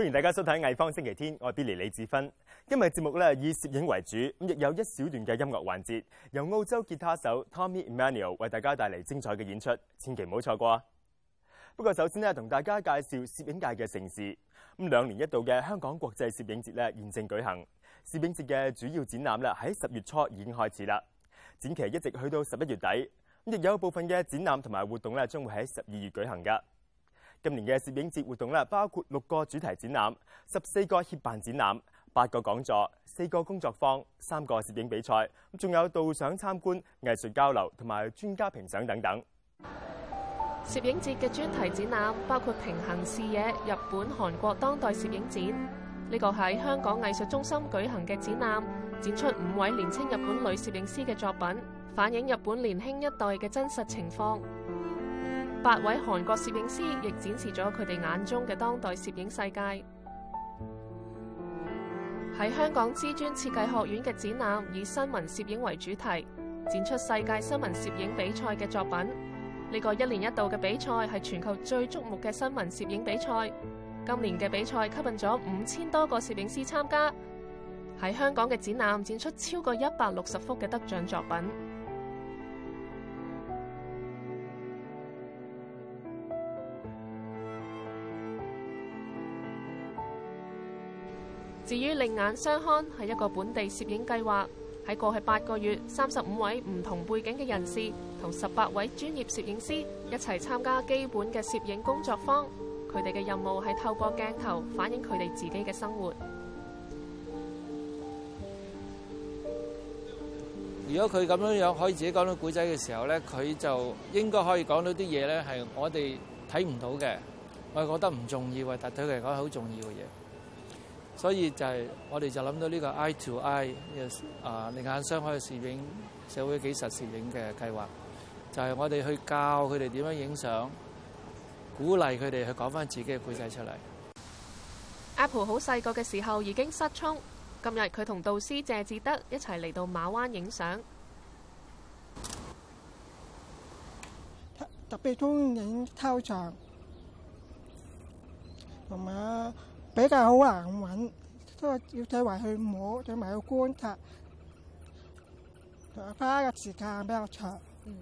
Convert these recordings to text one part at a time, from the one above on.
歡迎大家收睇《藝方星期天》，我係 Billy 李志芬。今日節目咧以攝影為主，亦有一小段嘅音樂環節，由澳洲吉他手 Tommy Emmanuel 為大家帶嚟精彩嘅演出，千祈唔好錯過啊！不過首先咧，同大家介紹攝影界嘅盛事。2年一度嘅香港國際攝影節咧現正舉行，攝影節嘅主要展覽咧喺10月初已經開始啦，展期一直去到11月底。亦有部分嘅展覽同埋活動咧將會喺12月舉行㗎。今年嘅攝影節活動咧，包括6個主題展覽、14個協辦展覽、8個講座、4個工作坊、3個攝影比賽，仲有導賞參觀、藝術交流同埋專家評賞等等。 攝影節嘅專題展覽包括平行視野日本、韓國當代攝影展，呢個喺香港藝術中心舉行嘅展覽，展出5位年輕日本女攝影師嘅作品，反映日本年輕一代嘅真實情況。8位韓國攝影師亦展示咗佢哋眼中嘅當代攝影世界。喺香港知專設計學院嘅展覽以新聞攝影為主題，展出世界新聞攝影比賽嘅作品。呢個1年一度嘅比賽係全球最矚目嘅新聞攝影比賽。今年嘅比賽吸引咗5000多個攝影師參加。喺香港嘅展覽展出超過160幅嘅得獎作品。至於另眼相看係一個本地攝影計劃，喺過去8個月，35位唔同背景嘅人士同18位專業攝影師一齊參加基本嘅攝影工作坊。佢哋嘅任務係透過鏡頭反映佢哋自己嘅生活。 如果佢咁樣可以自己講到古仔嘅時候咧，佢就應該可以講到啲嘢咧，係我哋睇唔到嘅，我係覺得唔重要，但對佢嚟講係好重要嘅嘢。所以就係我哋就諗到呢個 eye to eye 另眼相看嘅攝影社會紀實攝影嘅計劃，就係我哋去教佢哋點樣影相，鼓勵佢哋去講翻自己嘅故仔出嚟。 Apple 好細個嘅時候已經失聰，今日佢同導師謝志德一齊嚟到馬灣影相。 特別中意影抽象，同埋比較好難揾，都係要睇埋去摸，睇埋去觀察，花嘅時間比較長。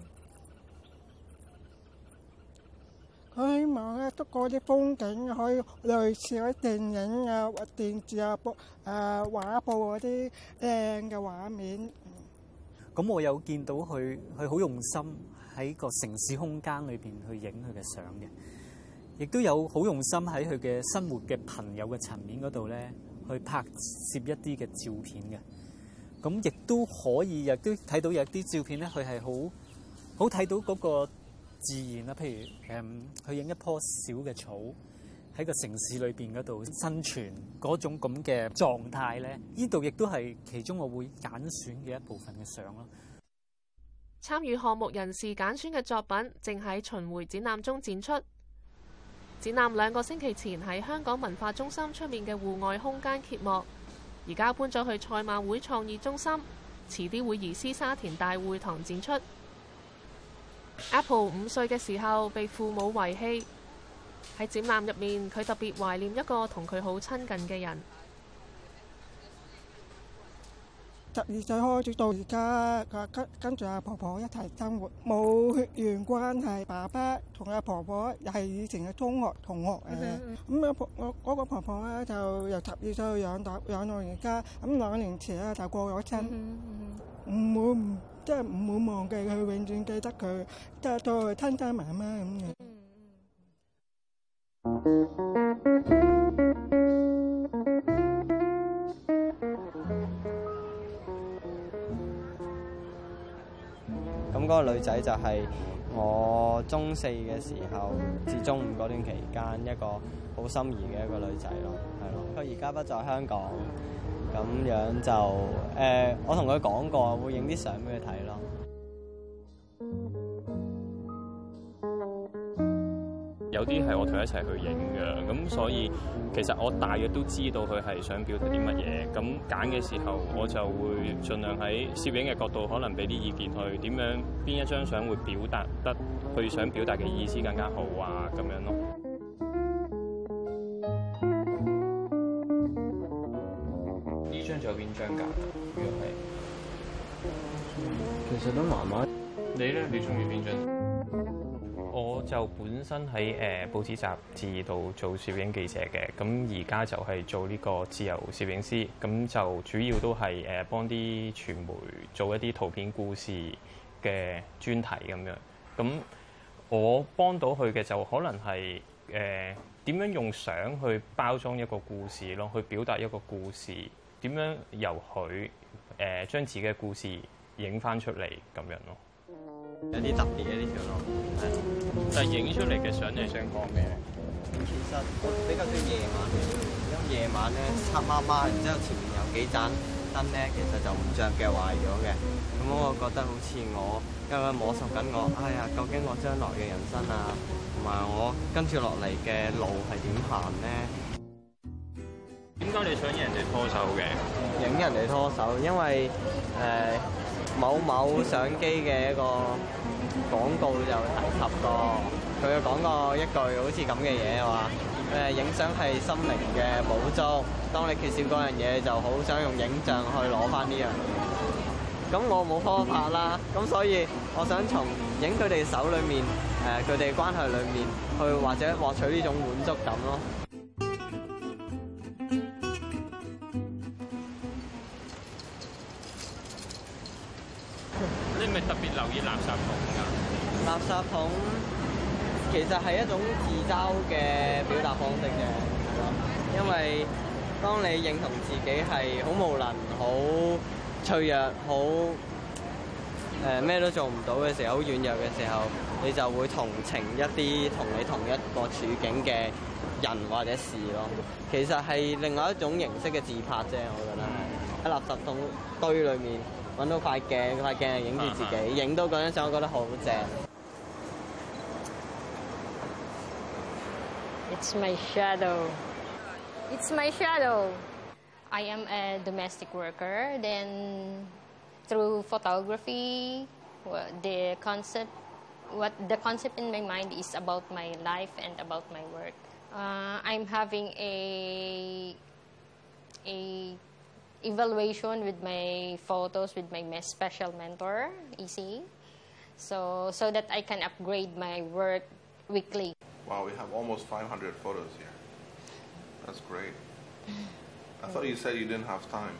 佢希望咧，都嗰啲風景可以類似嗰啲電影啊、電視啊、畫布嗰啲靚嘅畫面。 咁我有見到佢好用心喺個城市空間裏邊去影佢嘅相嘅。亦都有好用心喺佢嘅生活嘅朋友嘅層面嗰度咧，去拍攝一啲嘅照片嘅。咁亦都可以，亦都睇到有啲照片咧，佢係好睇到嗰個自然啦。譬如去影一棵小嘅草喺個城市裏邊嗰度生存嗰種咁嘅狀態咧，呢度亦都係其中我會揀選嘅一部分嘅相咯。 參與項目人士揀選嘅作品正喺巡迴展覽中展出。展覽2個星期前喺香港文化中心出面嘅戶外空間揭幕，而家搬咗去賽馬會創意中心，遲啲會移師沙田大會堂展出。Apple 5歲嘅時候被父母遺棄，喺展覽入面，佢特別懷念一個同佢好親近嘅人。 12歲開始到而家，跟住阿婆婆一齊生活，冇血緣關係。爸爸同阿婆婆又係以前嘅中學同學咁我嗰個婆婆咧就由12歲養到而家。咁2年前咧就過咗身，即係唔會忘記佢，永遠記得佢，即係當佢親媽媽咁嘅。 咁嗰個女仔就係我中4嘅時候至中5嗰段期間一個好心儀嘅一個女仔咯，係咯。佢而家不在香港，咁樣就我同佢講過會影啲相俾佢睇咯。 有啲係我同佢一齊去影嘅，咁所以其實我大約都知道佢係想表達啲乜嘢。咁揀嘅時候，我就會盡量喺攝影嘅角度，可能俾啲意見去點樣邊一張相會表達得佢想表達嘅意思更加好啊，咁樣咯。 咗邊張㗎？如果係， 其實都麻麻。 你咧，你中意邊張？我就本身喺報紙雜誌度做攝影記者嘅，咁而家就係做呢個自由攝影師，咁就主要都係幫啲傳媒做一啲圖片故事嘅專題咁樣。咁我幫到佢嘅就可能係點樣用相去包裝一個故事咯，去表達一個故事，點樣由佢將自己嘅故事影翻出嚟咁樣咯。 有啲特別嘅呢條路，係。 但係影出嚟嘅相你想講咩？ 其實比較中意夜晚嘅，因為夜晚咧黑麻麻，然之後前面有幾盞燈咧，其實就唔着嘅，壞咗嘅。咁我覺得好似我因為摸索緊我，哎呀，究竟我將來嘅人生啊，同埋我跟住落嚟嘅路係點行咧？ 點解你想影人哋拖手嘅？ 影人哋拖手，因為某相機嘅一個廣告就提及過，佢有講過一句好似咁嘅嘢話，影相係心靈嘅補足。當你缺少嗰樣嘢，就好想用影像去攞翻呢樣嘢。咁我冇方法啦，咁所以我想從影佢哋手裏面，佢哋關係裏面，去或者獲取呢種滿足感咯。 你咪特別留意垃圾桶㗎？ 垃圾桶其實係一種自嘲嘅表達方式嘅，係咯。因為當你認同自己係好無能、好脆弱、好咩都做唔到嘅時候，好軟弱嘅時候，你就會同情一啲同你同一個處境嘅人或者事咯。其實係另外一種形式嘅自拍啫，我覺得係喺垃圾桶堆裏面揾到塊鏡，塊鏡係影住自己，影到嗰張相，我覺得好正。 It's my shadow. It's my shadow. I am a domestic worker. Then, through photography, the concept in my mind is about my life and about my work. I'm having a evaluation with my photos with my special mentor, EC, so that I can upgrade my work weekly. Wow, we have almost 500 photos here. That's great. I thought you said you didn't have time.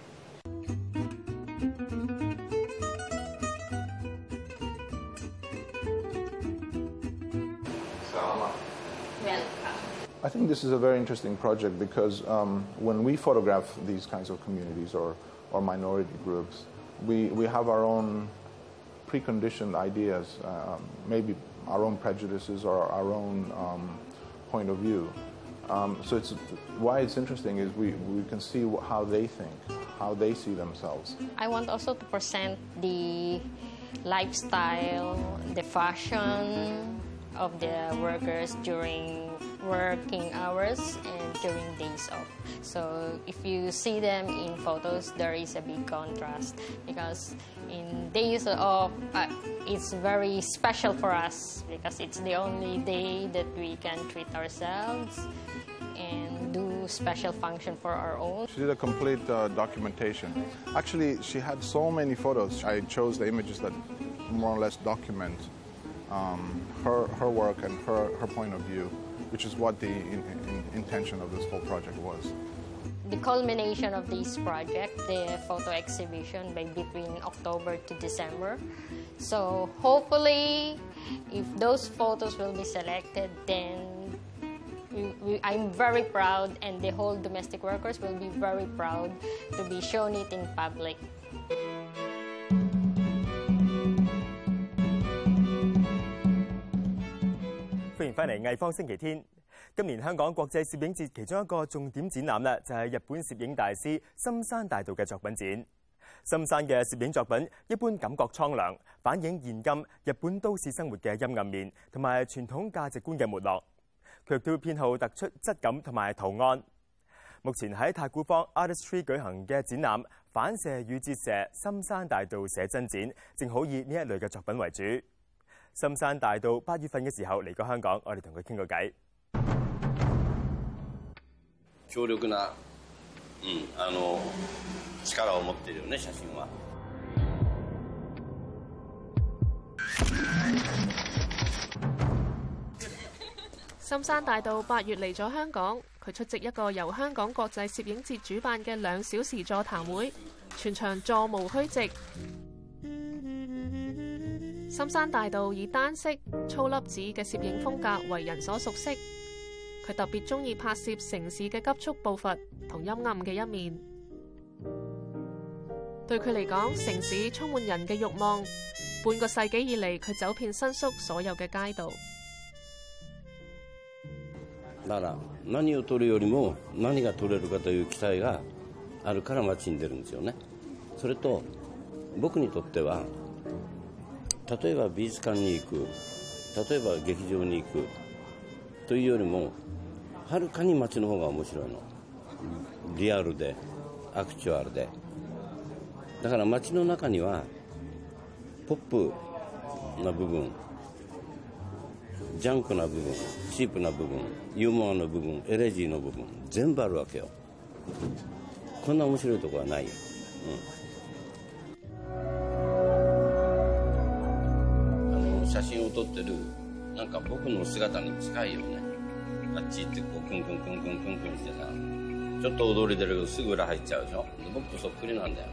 Salama. Welcome. I think this is a very interesting project because when we photograph these kinds of communities or minority groups, we have our own preconditioned ideas, maybe our own prejudices or our own point of view. So why it's interesting is we can see how they think, how they see themselves. I want also to present the lifestyle, the fashion of the workers during working hours and during days off. So if you see them in photos, there is a big contrast because in days off, it's very special for us because it's the only day that we can treat ourselves and do special function for our own. She did a complete documentation. Actually, she had so many photos. I chose the images that more or less document her work and her point of view, which is what the intention of this whole project was. The culmination of this project, the photo exhibition by between October to December. So hopefully, if those photos will be selected, then I'm very proud and the whole domestic workers will be very proud to be shown it in public. 歡迎翻嚟藝方星期天。今年香港國際攝影節其中一個重點展覽咧，就係日本攝影大師森山大道嘅作品展。森山嘅攝影作品一般感覺蒼涼，反映現今日本都市生活嘅陰暗面同埋傳統價值觀嘅沒落。佢亦都偏好突出質感同埋圖案。目前喺太古坊 Artistry 舉行嘅展覽《反射與折射森山大道寫真展》，正好以呢一類嘅作品為主。森山大道8月份嘅時候嚟過香港，我哋同佢傾個偈。 強力な、 力を持っているよね、寫真は。 森山大道8月嚟咗香港，佢出席一個由香港國際攝影節主辦嘅2小時座談會，全場座無虛席。森山大道以單色、粗粒子嘅攝影風格為人所熟悉，佢特別中意拍攝城市嘅急速步伐同陰暗嘅一面。對佢嚟講，城市充滿人嘅慾望。半個世紀以嚟，佢走遍新宿所有嘅街道。 だから何を撮るよりも何が撮れるかという期待があるから街に出るんですよね。それと僕にとっては、例えば美術館に行く、例えば劇場に行くというよりもはるかに街の方が面白いの。リアルでアクチュアルで。だから街の中にはポップな部分、ジャンクな部分、チープな部分、ユーモアの部分、エレジーの部分、全部あるわけよ。こんな面白いとこはないよ。写真を撮ってるなんか僕の姿に近いよね。あっち行ってこうクンクンクンクンクンクンしてさ、ちょっと踊り出るけどすぐ裏入っちゃうでしょ。僕とそっくりなんだよ。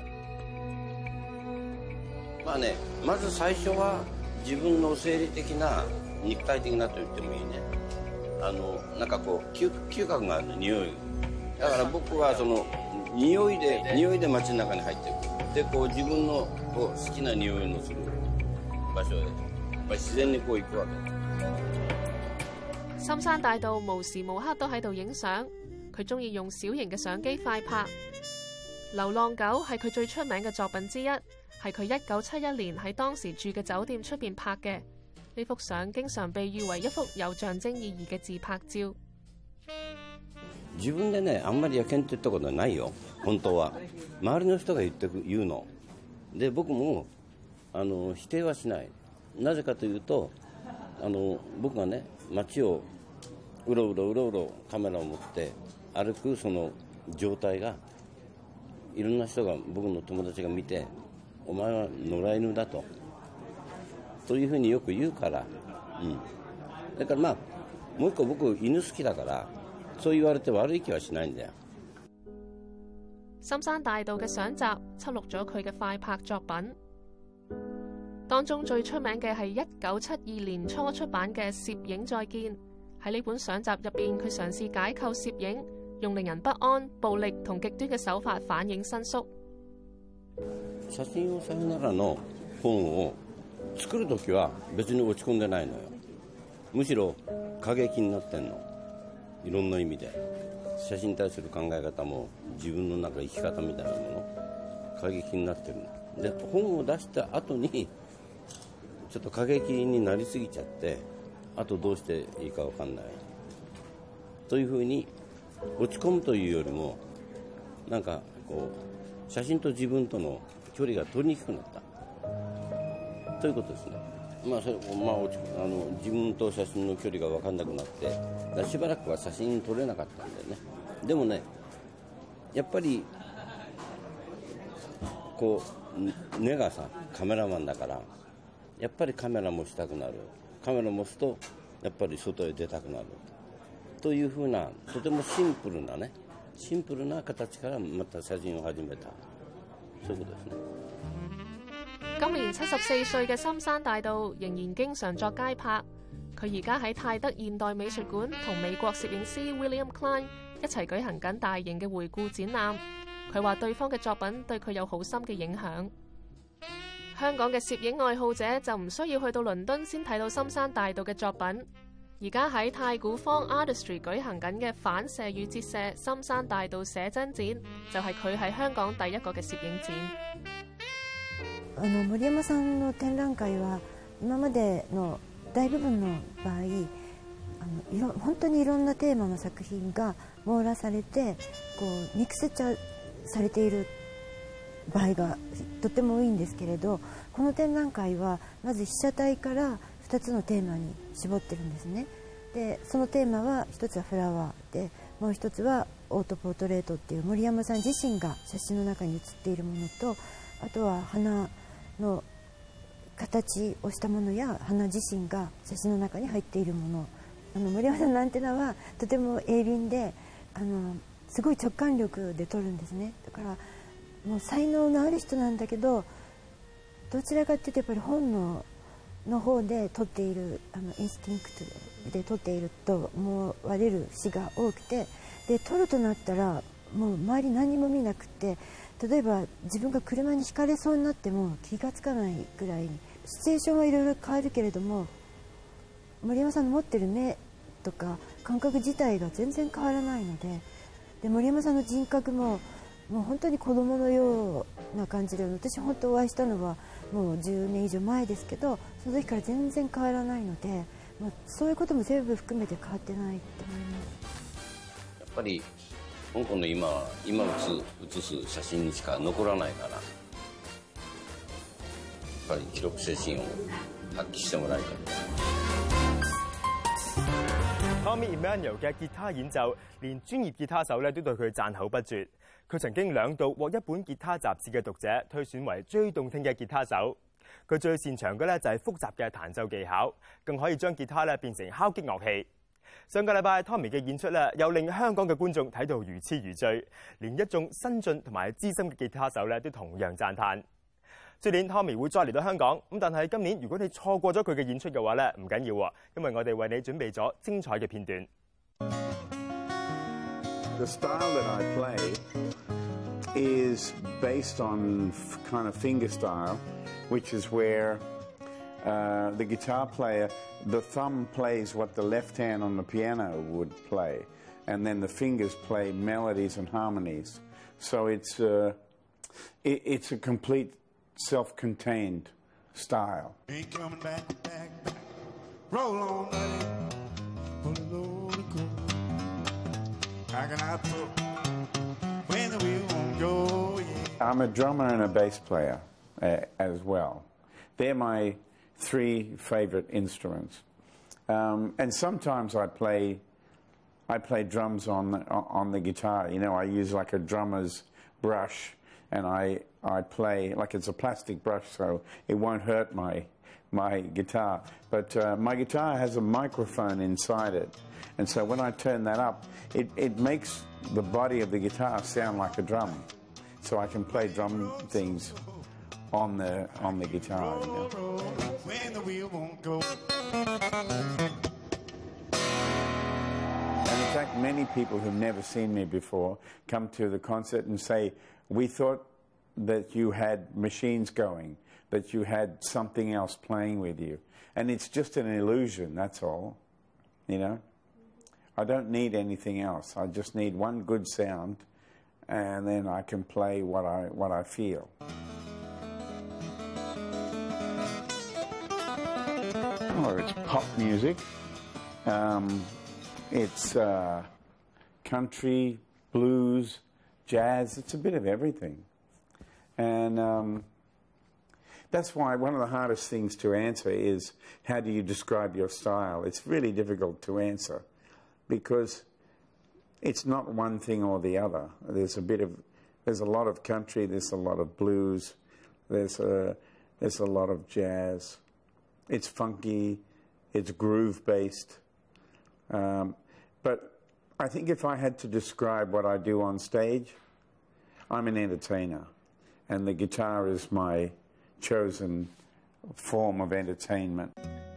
まあね、まず最初は自分の生理的な肉体的なと言ってもいいね。なんかこう嗅覚があるの、匂い。だから僕はその匂いで街の中に入っていく。でこう自分のこう好きな匂いのする場所へやっぱり自然にこう行くわけ。 森山大道無時無刻都喺度影相，佢中意用小型嘅相機快拍。流浪狗係佢最出名嘅作品之一，係佢1971年喺當時住嘅酒店出邊拍嘅。呢幅相經常被譽為一幅有象徵意義嘅自拍照。 自分でね、あんまりやけんって言ったことはないよ、本当は。周りの人が言うの。で、僕も否定はしない。なぜかというと、僕がね、街をうろうろカメラを持って歩くその状態が、いろんな人が、僕の友達が見て、お前は野良犬だというふうによく言うから、だからまあもう一個僕犬好きだから、そう言われて悪い気はしないんだよ。 森山大道嘅相集輯錄咗佢嘅快拍作品，當中最出名嘅係1972年初出版嘅《攝影再見》。喺呢本相集入邊，佢嘗試解構攝影，用令人不安、暴力同極端嘅手法反映新宿。 写真をさよならの本を作るときは別に落ち込んでないのよ。むしろ過激になってんの。いろんな意味で写真に対する考え方も自分のなんか生き方みたいなもの過激になってるので、本を出した後にちょっと過激になりすぎちゃって、あとどうしていいか分かんないというふうに落ち込むというよりも、なんかこう写真と自分との距離が取りにくくなったということですね。自分と写真の距離が分かんなくなって、しばらくは写真撮れなかったんだよね。でもね、やっぱりこう根がさ、カメラマンだから、やっぱりカメラもしたくなる。カメラ持つとやっぱり外へ出たくなるというふうな、とてもシンプルな形からまた寫真を始めた、そういうことですね。 今年74歲嘅森山大道仍然經常作街拍。佢而家喺泰德現代美術館同美國攝影師 William Klein 一齊舉行緊大型嘅回顧展覽。佢話對方嘅作品對佢有好深嘅影響。香港嘅攝影愛好者就唔需要去到倫敦先睇到森山大道嘅作品。而家喺太古坊 Artistry 舉行緊嘅反射與折射森山大道寫真展，就係佢喺香港第一個嘅攝影展。 森山さんの展覧会は今までの大部分の場合、本当にいろんなテーマの作品が網羅されてこうミクスチャーされている場合がとても多いんですけれど、この展覧会はまず被写体から2つのテーマに絞ってるんですね。でそのテーマは一つはフラワーで、もう一つはオートポートレートっていう森山さん自身が写真の中に写っているものと、あとは花の形をしたものや花自身が写真の中に入っているもの、森山さんのアンテナはとても鋭敏で、すごい直感力で撮るんですね。だからもう才能のある人なんだけど、どちらかっていうとやっぱり本能の方で撮っている、インスティンクトで撮っていると思われる詩が多くて、で撮るとなったらもう周り何も見なくて、例えば自分が車にひかれそうになっても気がつかないぐらいに、シチュエーションはいろいろ変わるけれども、森山さんの持ってる目とか感覚自体が全然変わらないので、森山さんの人格ももう本当に子供のような感じで、私本当お会いしたのはもう10年以上前ですけど、その時から全然変わらないので、そういうことも全部含めて変わってないと思います。 やっぱり香港の今写す写真にしか残らないから、やっぱり記録精神を発揮してもらいたい。 Tommy Emmanuel 嘅吉他演奏，連專業吉他手咧都對佢讚口不絕。佢曾經2度獲一本吉他雜誌嘅讀者推選為最動聽嘅吉他手。佢最擅長嘅咧就係複雜嘅彈奏技巧，更可以將吉他咧變成敲擊樂器。上個禮拜 Tommy 嘅演出咧，又令香港嘅觀眾睇到如痴如醉，連一眾新進同埋資深嘅吉他手咧都同樣讚歎。出年 Tommy 會再嚟到香港，咁但係今年如果你錯過咗佢嘅演出嘅話咧，唔緊要喎，因為我哋為你準備咗精彩嘅片段。 The style that I play is based on kind of finger style, which is where the guitar player, the thumb plays what the left hand on the piano would play, and then the fingers play melodies and harmonies. So it's a complete self-contained style. Ain't coming back, back, back. Roll on, buddy. Pull a load of coke. How can I put when the wheel won't go? Yeah. I'm a drummer and a bass player as well. They're my 3 favorite instruments. And sometimes I play drums on the guitar. You know, I use like a drummer's brush, and I play like it's a plastic brush, so it won't hurt my guitar. But my guitar has a microphone inside it, and so when I turn that up, it makes the body of the guitar sound like a drum, so I can play drum things on the guitar. You know? When the wheel won't go. And in fact, many people who've never seen me before come to the concert and say, "We thought that you had machines going, that you had something else playing with you." And it's just an illusion, that's all. You know? I don't need anything else. I just need one good sound, and then I can play what I feel. Oh, it's pop music. It's country, blues, jazz. It's a bit of everything. And that's why one of the hardest things to answer is, how do you describe your style? It's really difficult to answer because it's not one thing or the other. There's a lot of country, there's a lot of blues, there's a lot of jazz. It's funky, it's groove-based. But I think if I had to describe what I do on stage, I'm an entertainer, and the guitar is my chosen form of entertainment.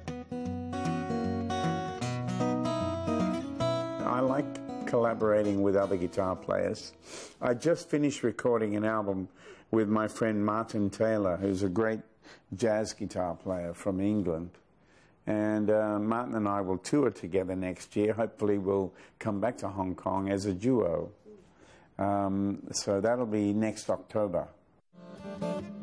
I like collaborating with other guitar players. I just finished recording an album with my friend Martin Taylor, who's a great jazz guitar player from England. And Martin and I will tour together next year. Hopefully we'll come back to Hong Kong as a duo. So that'll be next October.